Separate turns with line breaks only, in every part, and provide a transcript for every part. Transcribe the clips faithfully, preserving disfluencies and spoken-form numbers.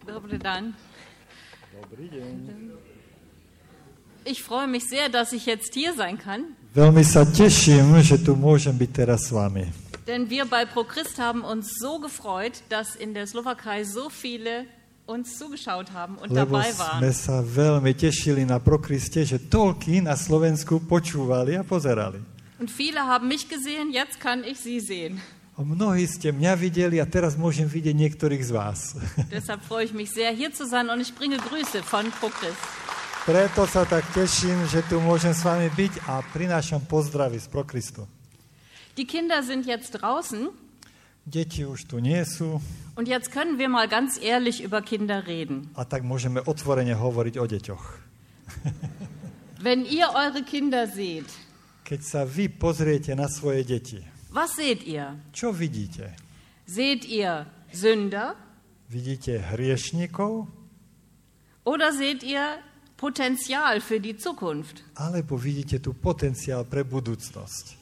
Dobrý den.
Dobrý deň.
Ich freue mich sehr, dass ich jetzt hier sein kann.
Veľmi sa teším, že tu môžem byť teraz s vami.
Denn wir bei ProChrist haben uns so gefreut, dass in der Slowakei so viele uns zugeschaut haben und
Lebo
dabei
sme
waren.
sa veľmi tešili na ProChriste, že toľkí na Slovensku počúvali a pozerali.
Und viele haben mich gesehen, jetzt kann ich sie sehen.
A mnohí ste mňa videli a teraz môžem vidieť niektorých z vás.
Deshalb freue ich mich sehr, hier zu sein und ich bringe Grüße von ProChrist.
Preto sa tak teším, že tu môžem s vami byť a prinášam pozdravy z ProChristu.
Die Kinder sind jetzt draußen
Deti už tu nie sú
und jetzt können wir mal ganz ehrlich über Kinder reden.
a tak môžeme otvorene hovoriť o deťoch.
Wenn ihr eure Kinder seht,
Keď sa vy pozriete na svoje deti,
was seht ihr?
čo vidíte?
Seht ihr Sünder
Vidíte hriešnikov
oder seht ihr Potenzial für die Zukunft?
alebo vidíte tu potenciál pre budúcnosť?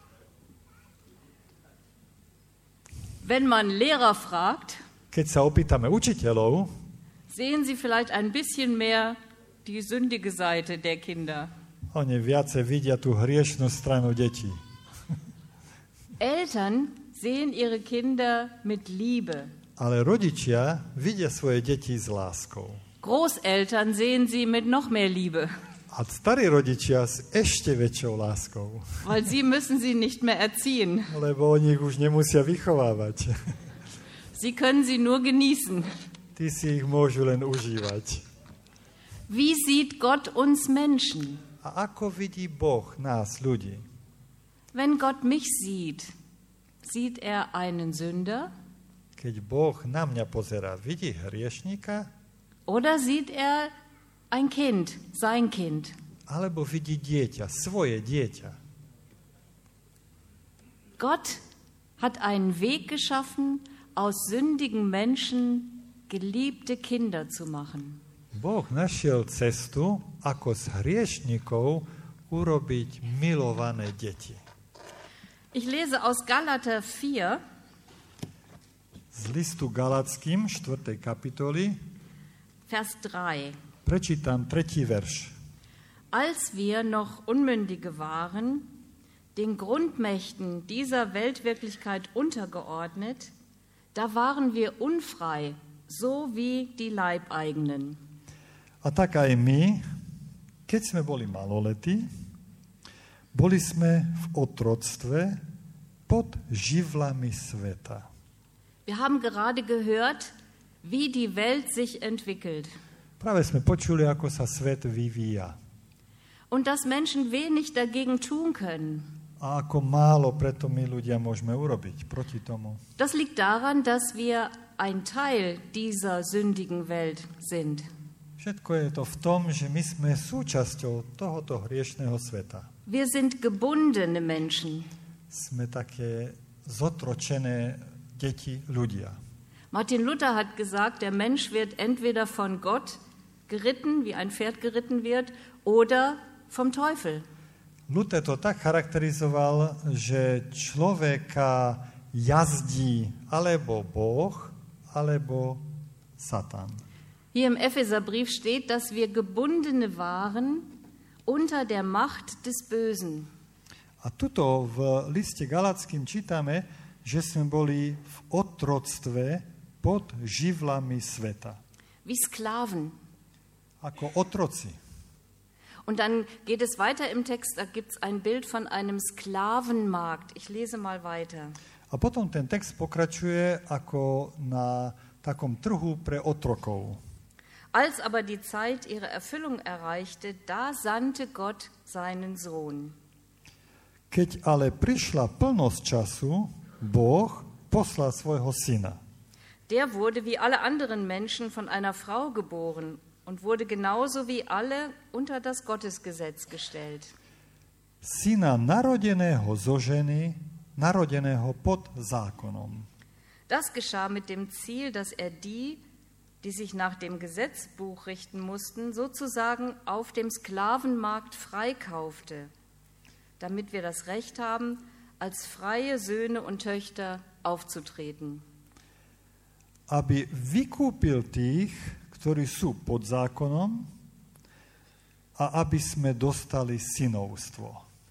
Wenn man Lehrer fragt,
Keď sa opýtame učiteľov,
sehen sie vielleicht ein bisschen mehr die sündige Seite der Kinder.
oni viacej vidia tú hriešnú stranu detí.
Eltern sehen ihre Kinder mit Liebe.
Ale rodičia vidia svoje deti s láskou.
Großeltern sehen sie mit noch mehr Liebe,
A starí rodičia s ešte väčšou láskou,
weil sie müssen sie nicht mehr erziehen.
lebo oni ich už nemusia vychovávať.
Sie können sie nur genießen.
Tí si ich môžu len užívať.
Wie sieht Gott uns Menschen?
A ako vidí Boh nás, ľudí?
Wenn Gott mich sieht, sieht er einen Sünder
Keď Boh na mňa pozerá, vidí hriešnika?
oder sieht er ein Kind, sein Kind?
Alebo vidí dieťa, svoje dieťa?
Gott hat einen Weg geschaffen, aus sündigen Menschen geliebte Kinder zu machen.
Boh našiel cestu, ako z hriešnikov urobiť milované deti.
Ich lese aus Galater vier,
Z listu Galackým, štvrtej kapitoly,
Vers drei.
prečítam tretí verš.
Als wir noch Unmündige waren, den Grundmächten dieser Weltwirklichkeit untergeordnet, da waren wir unfrei, so wie die Leibeigenen.
A tak aj my, keď sme boli maloletí, boli sme v otroctve pod živlami sveta.
Wir haben gerade gehört, wie die Welt sich entwickelt
Práve sme počuli, ako sa svet vyvíja
und dass Menschen wenig dagegen tun können.
a ako málo preto my ľudia môžeme urobiť proti tomu.
Das liegt daran, dass wir ein Teil dieser sündigen Welt sind.
Všetko je to v tom, že my sme súčasťou tohoto hriešného sveta.
Wir sind gebundene Menschen.
Sme také zotročené deti ľudia.
Martin Luther hat gesagt, der Mensch wird entweder von Gott geritten, wie ein Pferd geritten wird, oder vom Teufel.
Luther to tak charakterizoval, že človeka jazdí alebo Boh, alebo Satan.
Hier im Epheserbrief steht, dass wir Gebundene waren unter der Macht des Bösen.
A tuto v liste Galackým čítame, že sme boli v otroctve pod živlami sveta.
Wie Sklaven.
Ako otroci.
Und dann geht es weiter im Text, da gibt es ein Bild von einem Sklavenmarkt. Ich lese mal weiter.
A potom ten text pokračuje ako na takom trhu pre otrokov.
Als aber die Zeit ihre Erfüllung erreichte, da sandte Gott seinen Sohn.
Keď ale prišla plnosť času, Boh poslal svojho syna.
Der wurde wie alle anderen Menschen von einer Frau geboren und wurde genauso wie alle unter das Gottesgesetz gestellt.
Syna narodeného zo ženy, narodeného pod zákonom.
Das geschah mit dem Ziel, dass er die, die sich nach dem Gesetzbuch richten mussten, sozusagen auf dem Sklavenmarkt freikaufte, damit wir das Recht haben, als freie Söhne und Töchter aufzutreten.
aby vykúpil tých, ktorí sú pod zákonom, a aby sme dostali synovstvo.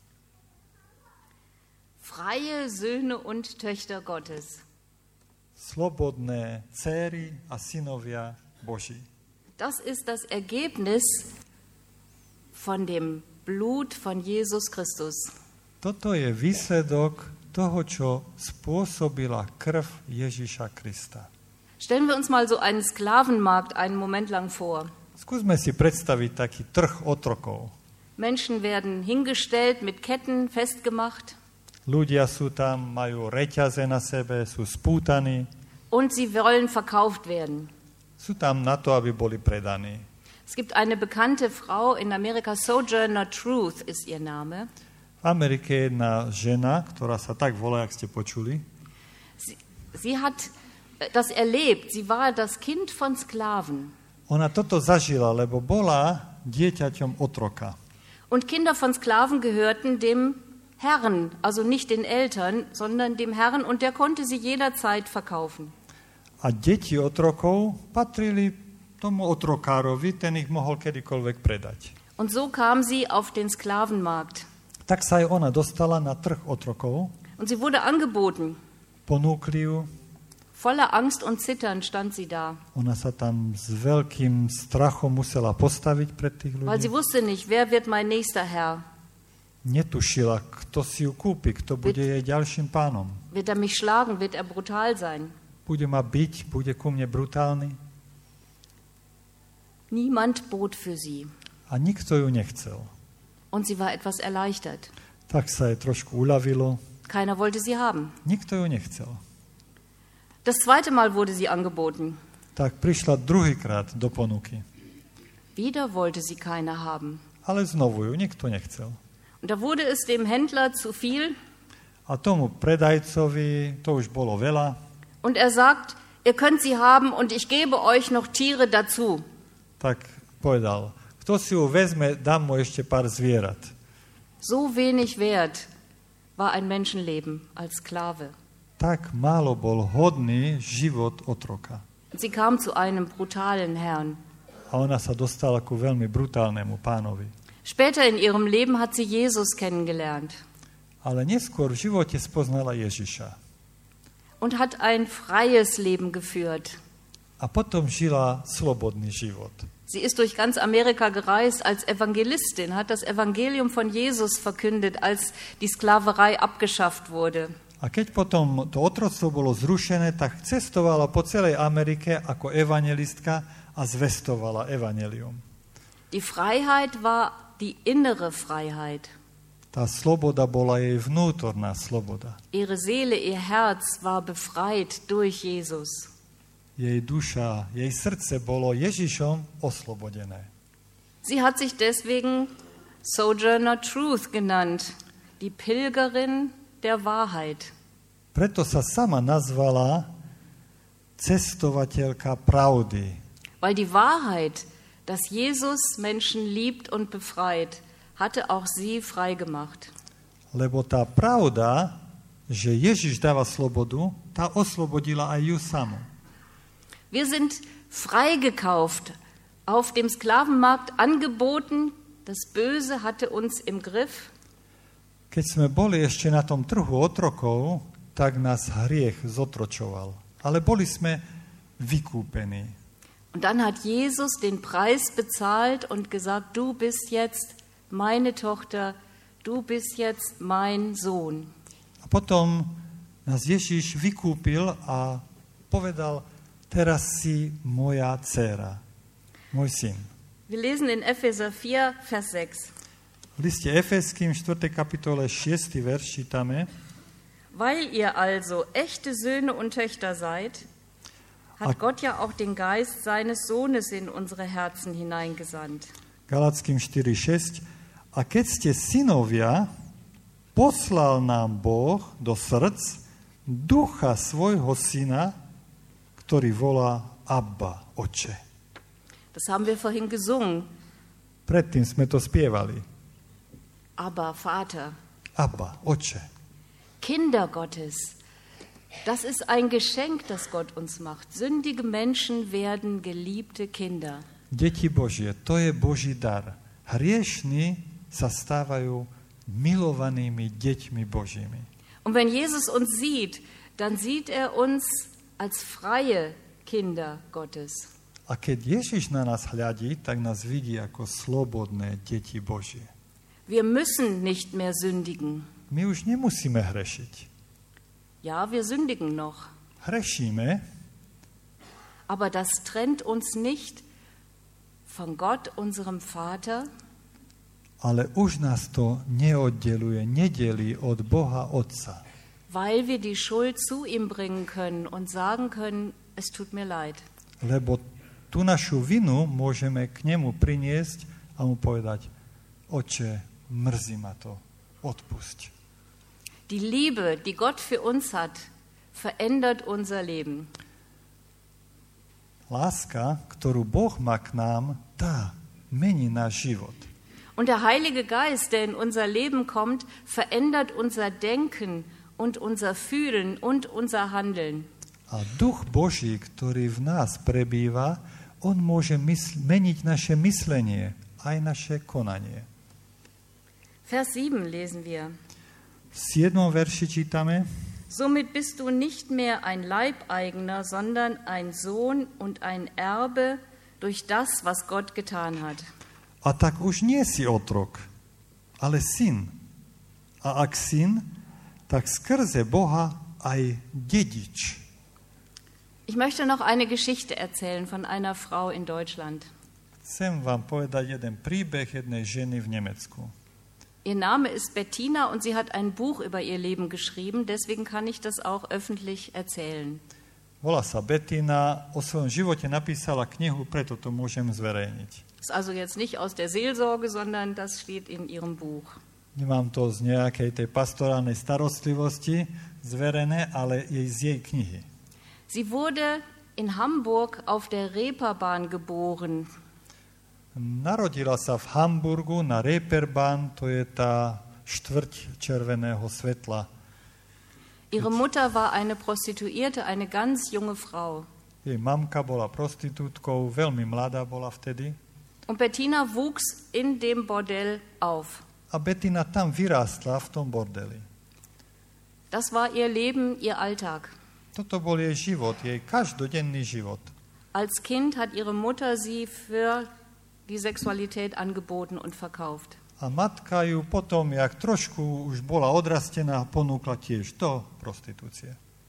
Freie Söhne und Töchter Gottes.
Slobodné dcéry a synovia Boží.
Das ist das Ergebnis von dem Blut von Jesus Christus.
Toto je výsledok toho, čo spôsobila krv Ježiša Krista.
Stellen wir uns mal so einen Sklavenmarkt einen Moment lang vor.
Skúsme si predstaviť taký trh otrokov.
Menschen werden hingestellt, mit Ketten festgemacht.
Ľudia sú tam, majú reťaze na sebe, sú spútaní.
Und sie wollen verkauft werden.
Sú tam na to, aby boli predaní.
Es gibt eine bekannte Frau in Amerika, Sojourner Truth ist ihr Name.
V Amerike je jedna žena, ktorá sa tak volá, jak ste počuli.
Sie, sie hat das erlebt. Sie war das Kind von Sklaven.
Ona toto zažila, lebo bola dieťaťom otroka.
Und Kinder von Sklaven gehörten dem Herrn, also nicht den Eltern, sondern dem Herrn, und der konnte sie jederzeit verkaufen.
A deti otrokov patrili tomu otrokárovi, ten ich mohol kedykoľvek predať.
Und so kam sie auf den Sklavenmarkt.
Tak sa aj ona dostala na trh otrokov.
Und sie wurde angeboten.
Ponúkli ju.
Voller Angst und Zittern stand sie da.
Ona sa tam s veľkým strachom musela postaviť pred tých ľudí.
Weil sie wusste nicht, wer wird mein nächster Herr?
Netušila, kto si ju kúpi, kto bude jej ďalším pánom.
Wird er mich schlagen? Wird er brutal sein?
Bude ma biť, bude ku mne brutálny.
Niemand bot für sie.
A nikto ju nechcel.
Und sie war etwas erleichtert.
Tak sa jej trošku uľavilo.
Keiner wollte sie haben.
Nikto ju nechcel.
Das zweite Mal wurde sie angeboten.
Tak prišla druhýkrát do ponuky.
Wieder wollte sie keiner haben.
Ale znovu ju nikto nechcel.
Und da wurde es dem Händler zu viel.
A tomu predajcovi to už bolo veľa.
Und er sagt, ihr könnt sie haben und ich gebe euch noch Tiere dazu.
Tak povedal, kto si ju vezme, dám mu ešte pár zvierat.
So wenig wert war ein Menschenleben als Sklave.
Tak málo bol hodný život otroka.
Sie kam zu einem brutalen Herrn.
A ona sa dostala ku veľmi brutálnemu pánovi.
Später in ihrem Leben hat sie Jesus kennengelernt.
Ale neskôr v živote spoznala Ježiša.
Und hat ein freies Leben geführt.
A potom žila slobodný život.
Sie ist durch ganz Amerika gereist als Evangelistin, hat das Evangelium von Jesus verkündet, als die Sklaverei abgeschafft wurde.
A keď potom to otroctvo bolo zrušené, tak cestovala po celej Amerike ako evangelistka a zvestovala evanjelium.
Die Freiheit war die innere Freiheit.
Tá sloboda bola jej vnútorná sloboda.
Ihre Seele, ihr Herz war befreit durch Jesus.
Jej duša, jej srdce bolo Ježišom oslobodené.
Sie hat sich deswegen Sojourner Truth genannt, die Pilgerin der Wahrheit.
Preto sa sama nazvala cestovateľka pravdy.
Weil die Wahrheit, dass Jesus Menschen liebt und befreit, hatte auch sie frei gemacht.
Lebo tá pravda, že Ježiš dáva slobodu, tá oslobodila aj ju samu.
Wir sind freigekauft, auf dem Sklavenmarkt angeboten. Das Böse hatte uns im Griff.
Keď sme boli ešte na tom trhu otrokov, tak nás hriech zotročoval. Ale boli sme vykúpení.
Und dann hat Jesus den Preis bezahlt und gesagt, du bist jetzt meine Tochter, du bist jetzt mein Sohn.
A potom nás Ježiš vykúpil a povedal, teraz si moja dcéra, môj syn.
Wir lesen in Epheser vier, Vers sechs.
V liste Efeským štvrtej kapitole šiesty verš čítame:
Weil ihr also echte Söhne und Töchter seid, hat Gott ja auch den Geist seines Sohnes in unsere Herzen hineingesandt.
Galatským štyri šesť. A keď ste synovia, poslal nám Boh do srdc ducha svojho syna, ktorý volá Abba, Oče.
Das haben wir vorhin gesungen.
Predtým sme to spievali.
Abba, Vater.
Abba, Oče.
Kinder Gottes. Das ist ein Geschenk, das Gott uns macht. Sündige Menschen werden geliebte Kinder.
Deti Božie, to je Boží dar. Hriešni sa stávajú milovanými deťmi Božími.
Und wenn Jesus uns sieht, dann sieht er uns als freie Kinder Gottes.
A keď Ježiš na nás hľadí, tak nás vidí ako slobodné deti Božie.
Wir müssen nicht mehr sündigen.
My už nemusíme hrešiť.
Ja, wir sündigen noch.
Hrešíme,
aber das trennt uns nicht von Gott, unserem Vater,
ale už nás to neoddeluje, nedelí od Boha Otca.
weil wir die Schuld zu ihm bringen können und sagen können, es tut mir leid.
Lebo tú našu vinu môžeme k nemu priniesť a mu povedať, Oče, mrzí ma to, odpusť.
Die Liebe, die Gott für uns hat, verändert unser Leben.
Láska, ktorú Boh má k nám, tá mení náš život.
Und der Heilige Geist, der in unser Leben kommt, verändert unser Denken und unser Fühlen und unser Handeln.
A Duch Boží, ktorý v nás prebýva, on môže mysl- meniť naše myslenie, aj naše konanie.
Vers sieben lesen wir.
V siedmom verši čítame:
Somit bist du nicht mehr ein Leibeigener, sondern ein Sohn und ein Erbe durch das, was Gott getan hat.
A tak už nie si otrok, ale syn. A ak syn, tak skrze Boha aj dedič.
Ich möchte noch eine Geschichte erzählen von einer Frau in Deutschland.
Chcem vám povedať jeden príbeh jednej ženy v Nemecku.
Ihr Name ist Bettina und sie hat ein Buch über ihr Leben geschrieben, deswegen kann ich das auch öffentlich erzählen.
Volá sa Bettina, o svojom živote napísala knihu, preto to môžem zverejniť.
Das ist also jetzt nicht aus der Seelsorge, sondern das steht in ihrem Buch.
Nemám to z nejakej tej pastorálnej starostlivosti zverené, ale je z jej knihy.
Sie wurde in Hamburg auf der Reeperbahn geboren.
Narodila sa v Hamburgu na Reeperbahn, to je tá štvrť červeného svetla.
Ihre Mutter war eine Prostituierte, eine ganz junge Frau.
Jej mamka bola prostitútkou, veľmi mladá bola vtedy.
Und Bettina wuchs in dem Bordell auf.
A Bettina tam vyrástla v tom bordeli.
Das war ihr Leben, ihr Alltag.
Toto bol jej život, jej každodenný život.
Als Kind hat ihre Mutter sie für die Sexualität angeboten und verkauft.
A matka ju potom, jak trošku už bola odrastená, ponúkla tiež do prostitúcie.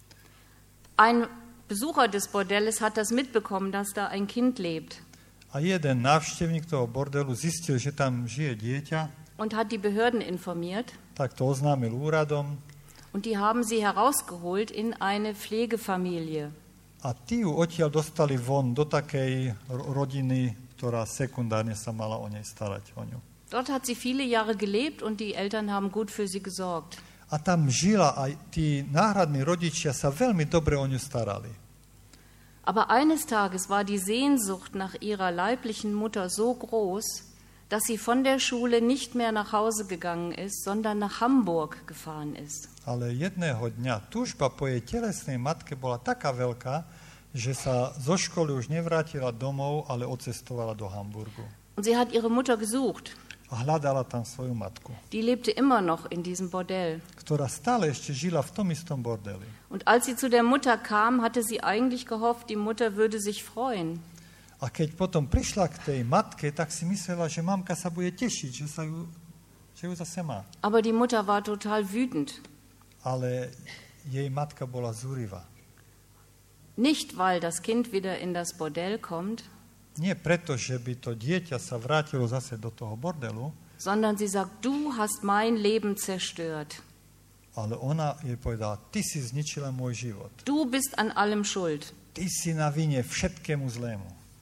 Ein Besucher des Bordells hat das mitbekommen, dass da ein Kind lebt.
A jeden návštevník toho bordelu zistil, že tam žije dieťa,
und hat die Behörden informiert.
Tak to oznámil úradom.
Und die haben sie herausgeholt in eine Pflegefamilie.
A tí ju odtiaľ dostali von do takej rodiny, ktorá sekundárne sa mala o nej starať, o ňu.
Dort hat sie viele Jahre gelebt und die Eltern haben gut für sie gesorgt.
A tam žila a tí náhradní rodičia sa veľmi dobre o ňu starali.
Aber eines Tages war die Sehnsucht nach ihrer leiblichen Mutter so groß, dass sie von der Schule nicht mehr nach Hause gegangen ist, sondern nach Hamburg gefahren ist.
Ale jedného dňa túžba po jej telesnej matke bola taká veľká, že sa zo školy už nevrátila domov, ale odcestovala do Hamburgu.
Und sie hat ihre Mutter gesucht.
A hľadala tam svoju matku.
Die lebte immer noch in diesem Bordell.
Ktorá stále ešte žila v tom istom bordeli.
Und als sie zu der Mutter kam, hatte sie eigentlich gehofft, die Mutter würde sich freuen.
A keď potom prišla k tej matke, tak si myslela, že mamka sa bude tešiť, že, sa ju, že ju zase má.
Aber die Mutter war total wütend.
Ale jej matka bola zúrivá.
Nicht, weil das Kind wieder in das Bordell kommt,
nie preto, že by to dieťa sa vrátilo zase do toho bordelu,
sondern sie sagt, du hast mein Leben zerstört.
Ale ona jej povedala, ty si zničila môj život.
Du bist an allem schuld.
Ty si na vine všetkému zlému.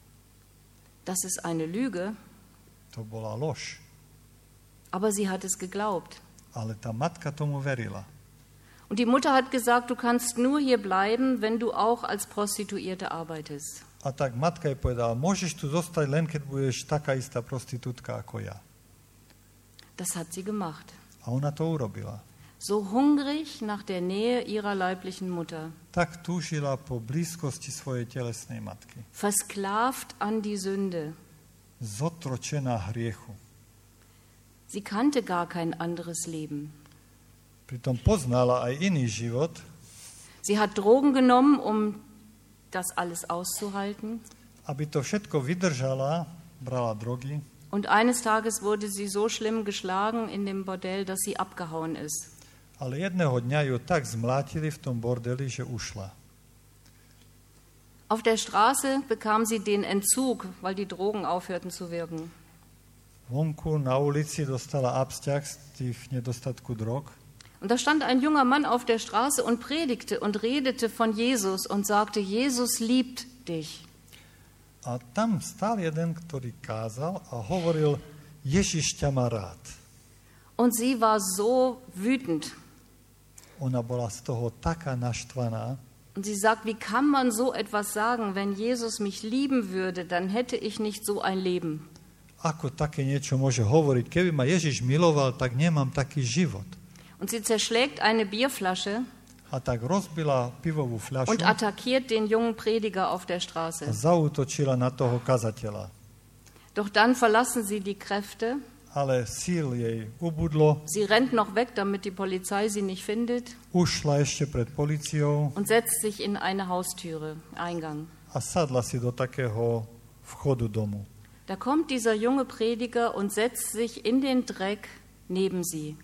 Das ist eine Lüge.
To bola lož.
Aber sie hat es geglaubt.
Ale tá matka tomu verila.
Und die Mutter hat gesagt, du kannst nur hier bleiben, wenn du auch als Prostituierte arbeitest.
A tak matka jej povedala, môžeš tu zostať len, keď budeš taká istá prostitútka ako ja.
Das hat sie gemacht.
A ona to urobila.
so hungrig nach der Nähe ihrer leiblichen Mutter,
tak túžila po blízkosti svojej telesnej matky.
versklavt an die Sünde.
Zotročená hriechu.
Sie kannte gar kein anderes Leben.
Pritom poznala aj iný život.
Sie hat Drogen genommen, um das alles auszuhalten.
Aby to všetko vydržala, brala drogy.
Und eines Tages wurde sie so schlimm geschlagen in dem Bordell, dass sie abgehauen ist.
Ale jedného dňa ju tak zmlátili v tom bordeli, že ušla.
Auf der Straße bekam sie den Entzug, weil die Drogen aufhörten zu wirken.
Vonku na ulici dostala absťah z tých nedostatku drog.
Und da stand ein junger Mann auf der Straße und predigte und redete von Jesus und sagte, Jesus liebt dich.
A tam stál jeden, ktorý kázal a hovoril, Ježiš ťa má rád.
Und sie war so wütend.
Ona bola z toho taká naštvaná.
Und sie sagt, wie kann man so etwas sagen, wenn Jesus mich lieben würde, dann hätte ich nicht so ein Leben.
Ako také niečo môže hovoriť? Keby ma Ježiš miloval, tak nemám taký život.
Und sie zerschlägt eine Bierflasche
A tak rozbila pivovú fľašu
und attackiert den jungen Prediger auf der
a
Straße.
zaútočila na toho kazateľa.
Doch dann verlassen sie die Kräfte.
Ale síl jej ubudlo,
Sie rennt noch weg, damit die Polizei sie nicht findet
ušla ešte pred políciou
und setzt sich in eine Haustüre, Eingang.
a sadla si do takého vchodu domu.
Da kommt dieser junge Prediger und setzt sich in den Dreck neben sie.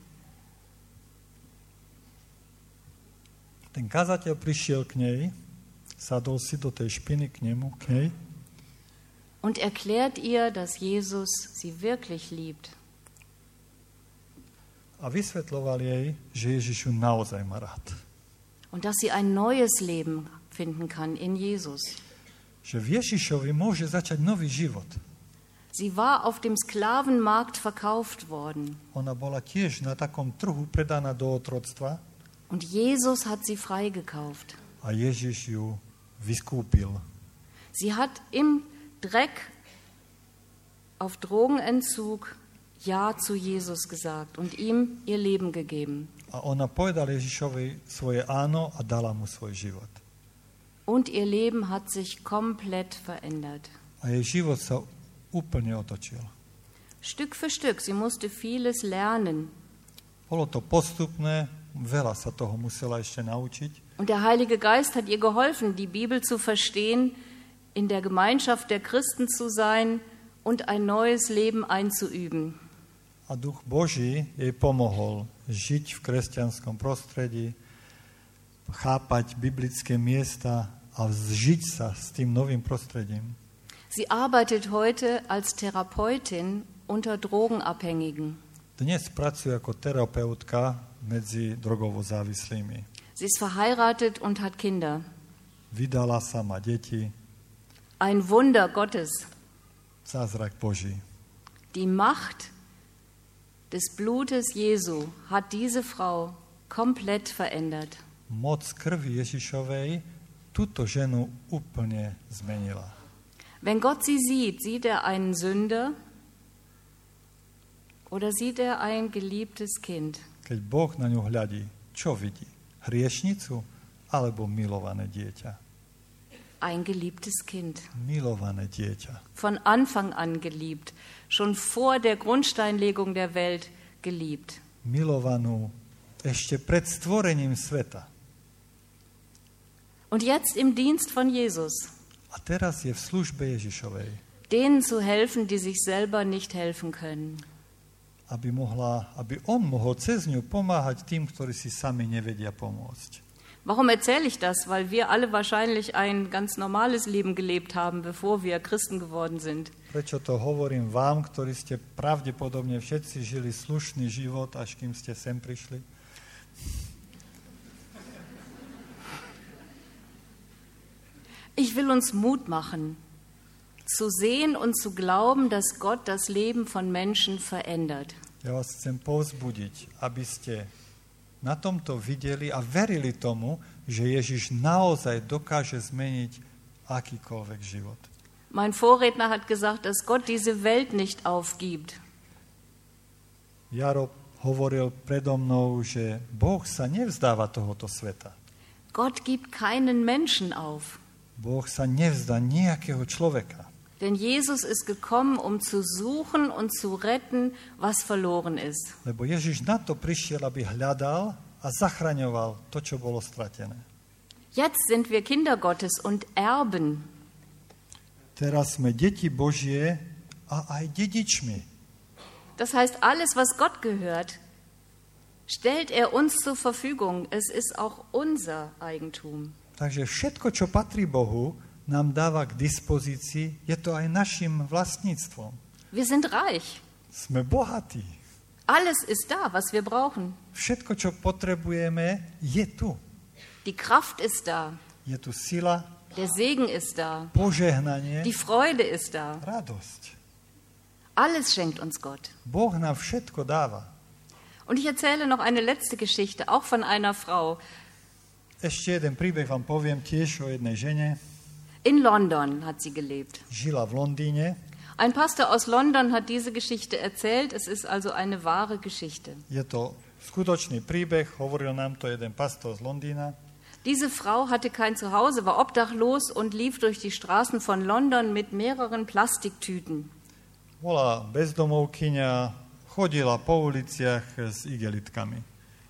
Ten kazateľ prišiel k nej, sadol si do tej špiny k nemu, k nej
Und erklärt ihr, dass Jesus sie wirklich liebt.
a vysvetľoval jej, že Ježiš ju naozaj má rád.
Und dass sie ein neues Leben finden kann in Jesus.
Že v Ježišovi môže začať nový život.
Sie war auf dem Sklavenmarkt verkauft worden.
Ona bola tiež na takom trhu predaná do otroctva
Und Jesus hat sie freigekauft.
a Ježiš ju vyskúpil.
Sie hat im Dreck auf Drogenentzug Ja zu Jesus gesagt und ihm ihr Leben gegeben.
A ona povedala Ježišovi svoje áno a dala mu svoj život.
Und ihr Leben hat sich komplett verändert.
A jej život sa úplne otočil.
Stück für Stück, sie musste vieles lernen.
Bolo to postupné, veľa sa toho musela ešte naučiť.
Und der Heilige Geist hat ihr geholfen, die Bibel zu verstehen, in der Gemeinschaft der Christen zu sein und ein neues Leben einzuüben.
A Duch Boží jej pomohol žiť v kresťanskom prostredí, chápať biblické miesta a zžiť sa s tým novým prostredím.
Sie arbeitet heute als Therapeutin unter Drogenabhängigen.
Dnes pracuje ako terapeutka medzi drogovo závislými.
Sie ist verheiratet und hat Kinder.
Vydala sa, má deti.
Ein Wunder Gottes.
Zázrak Boží.
Die Macht des Blutes Jesu hat diese Frau komplett verändert.
Moc krvi Ježišovej túto ženu úplne zmenila.
Wenn Gott sie sieht, sieht er einen Sünder oder sieht er ein geliebtes Kind?
Keď Boh na ňu hľadí, čo vidí? Hriešnicu alebo milované dieťa?
Ein geliebtes Kind.
Milované dieťa.
Von Anfang an geliebt. Schon vor der Grundsteinlegung der Welt geliebt.
Milovanú ešte pred stvorením sveta.
Und jetzt im Dienst von Jesus.
A teraz je v službe Ježišovej.
Denen zu helfen, die sich selber nicht helfen können.
Aby, mohla, aby on mohol cez ňu pomáhať tým, ktorí si sami nevedia pomôcť.
Warum erzähle ich das? Weil wir alle wahrscheinlich ein ganz normales Leben gelebt haben, bevor wir Christen geworden sind.
Prečo to hovorím vám, ktorí ste pravdepodobne všetci žili slušný život, až kým ste sem prišli?
Ich will uns Mut machen, zu sehen und zu glauben, dass Gott das Leben von Menschen verändert.
Ja vás chcem povzbudiť, aby ste na tomto videli a verili tomu, že Ježiš naozaj dokáže zmeniť akýkoľvek život.
Mein Vorredner hat gesagt, dass Gott diese Welt nicht aufgibt.
Jaro hovoril predo mnou, že Boh sa nevzdáva tohoto sveta.
Gott gibt keinen Menschen auf.
Boh sa nevzdá nejakého človeka.
Denn Jesus ist gekommen, um zu suchen und zu retten, was verloren ist.
Lebo Ježiš na to prišiel, aby hľadal a zachraňoval to, čo bolo stratené.
Jetzt sind wir Kinder Gottes und Erben.
Teraz sme deti Božie a aj dedičmi.
Das heißt, alles, was Gott gehört, stellt er uns zur Verfügung. Es ist auch unser Eigentum.
Takže všetko, čo patrí Bohu, nám dáva k dispozícii, je to aj našim vlastníctvom.
Wir sind reich.
Sme bohatí.
Alles ist da, was wir brauchen.
Všetko, čo potrebujeme, je tu.
Die Kraft ist da.
Je tu sila,
Der Segen ist da.
požehnanie,
Die Freude ist da.
radosť.
Alles schenkt uns Gott.
Boh nám všetko dáva.
Und ich erzähle noch eine letzte Geschichte, auch von einer Frau.
Ešte jeden príbeh vám poviem tiež o jednej žene.
In London hat sie gelebt.
Žila v Londýne.
Ein Pastor aus London hat diese Geschichte erzählt. Es ist also eine wahre Geschichte.
Je to skutočný príbeh, hovoril nám to jeden pastor z Londýna.
Diese Frau hatte kein Zuhause, war obdachlos und lief durch die Straßen von London mit mehreren Plastiktüten.
Bola bezdomovkyňa, chodila po uliciach s igelitkami.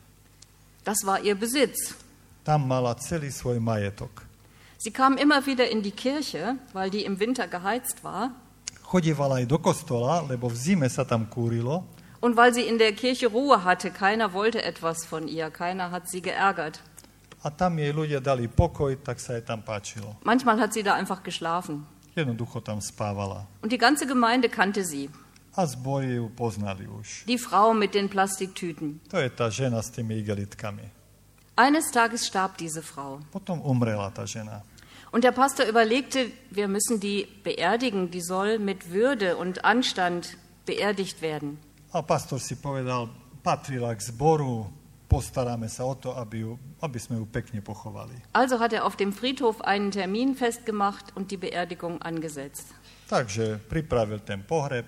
Das war ihr Besitz.
Tam mala celý svoj majetok.
Sie kam immer wieder in die Kirche, weil die im Winter geheizt war.
Chodievala aj do kostola, lebo v zime sa tam kúrilo.
Und weil sie in der Kirche Ruhe hatte, keiner wollte etwas von ihr, keiner hat sie geärgert.
A tam jej ľudia dali pokoj, tak sa jej tam páčilo.
Manchmal hat sie da einfach geschlafen.
Jednoducho tam spávala.
Und die ganze Gemeinde kannte sie.
A zbory ju poznali už.
Die Frau mit den Plastiktüten.
To je tá žena s tými igelitkami.
Eines Tages starb diese Frau.
Potom umrela tá žena.
Und der Pastor überlegte, wir müssen die beerdigen, die soll mit Würde und Anstand beerdigt werden.
A pastor si povedal, patrila k zboru, postaráme sa o to, aby, ju, aby sme ju pekne pochovali.
Also hat er auf dem Friedhof einen Termin festgemacht und die Beerdigung angesetzt.
Takže pripravil ten pohreb.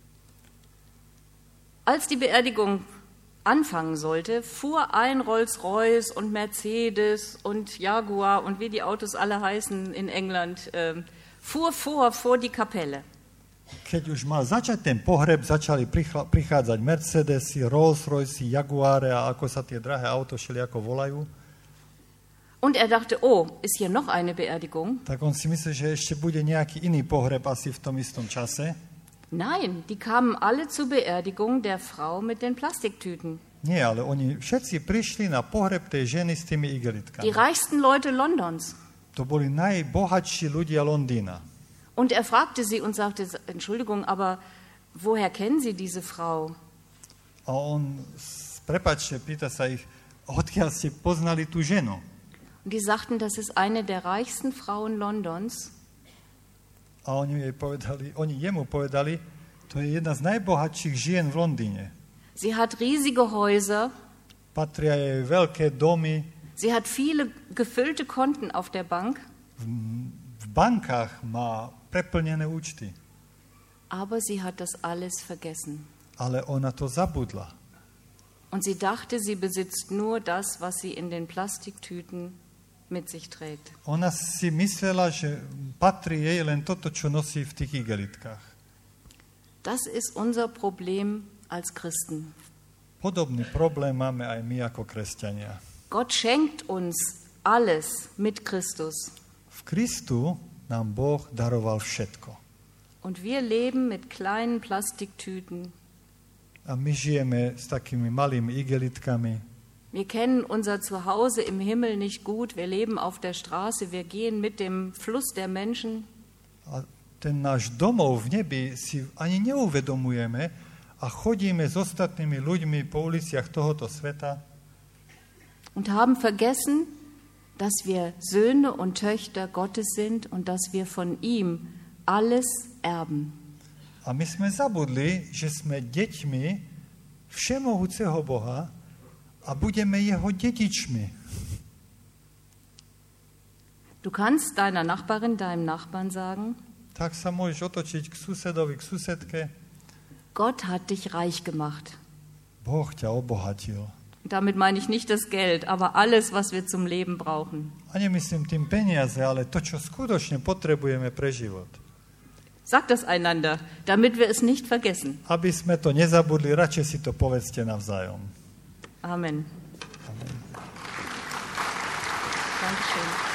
Als die Beerdigung anfangen sollte, fuhr ein Rolls-Royce und Mercedes und Jaguar und wie die Autos alle heißen in England, äh, fuhr vor, vor die Kapelle.
Keď už mal začať ten pohreb, začali prichla, prichádzať Mercedesy, Rolls-Royce, Jaguare a ako sa tie drahé auto všelijako volajú.
Und er dachte, oh, ist hier noch eine Beerdigung?
Tak on si myslel, že ešte bude nejaký iný pohreb asi v tom istom čase.
Nein, die kamen alle zur Beerdigung der Frau mit den Plastiktüten.
Nie, ale oni všetci prišli na pohreb tej ženy s tými igelitkami.
Die reichsten Leute Londons.
To boli najbohatší ľudia Londýna.
Und er fragte sie und sagte, Entschuldigung, aber woher kennen Sie diese Frau?
A on, prepáčte, pýta sa ich, odkiaľ ste poznali tú ženu?
Und die sagten, das ist eine der reichsten Frauen Londons.
A oni jej povedali, oni jemu povedali, to je jedna z najbohatších žien v Londýne.
Sie hat riesige Häuser.
Patria jej veľké domy.
Sie hat viele gefüllte Konten auf der Bank.
V, v bankách má preplnené účty.
Aber sie hat das alles vergessen.
Ale ona to zabudla.
Und sie dachte, sie besitzt nur das, was sie in den Plastiktüten mit sich trägt.
Ona si myslela, že patrí jej len toto, čo nosí v tých igelitkách.
Das ist unser Problem als Christen.
Podobný problém máme aj my ako kresťania.
Gott schenkt uns alles mit Christus.
V Kristu nám Boh daroval všetko.
Und wir leben mit kleinen Plastiktüten.
A my žijeme s takými malými igelitkami.
Wir kennen unser Zuhause im Himmel nicht gut. Wir leben auf der Straße. Wir gehen mit dem Fluss der Menschen.
A ten náš domov v nebi si ani neuvedomujeme a chodíme s ostatnými ľuďmi po uliciach tohoto sveta.
Und haben vergessen, dass wir Söhne und Töchter Gottes sind und dass wir von ihm alles erben.
A my sme zabudli, že sme deťmi všemohúceho Boha a budeme jeho dedičmi.
Du kannst deiner Nachbarin, deinem Nachbarn sagen,
Tak sa môžeš otočiť k susedovi, k susedke.
Gott hat dich reich gemacht.
Boh ťa obohatil.
Damit meine ich nicht das Geld, aber alles, was wir zum Leben brauchen.
A nemyslím tým peniaze, ale to, čo skutočne potrebujeme pre život.
Sagt das einander, damit wir es nicht vergessen.
Aby sme to nezabudli, radšej si to povedzte navzájom.
Amen.
Amen.
Dankeschön.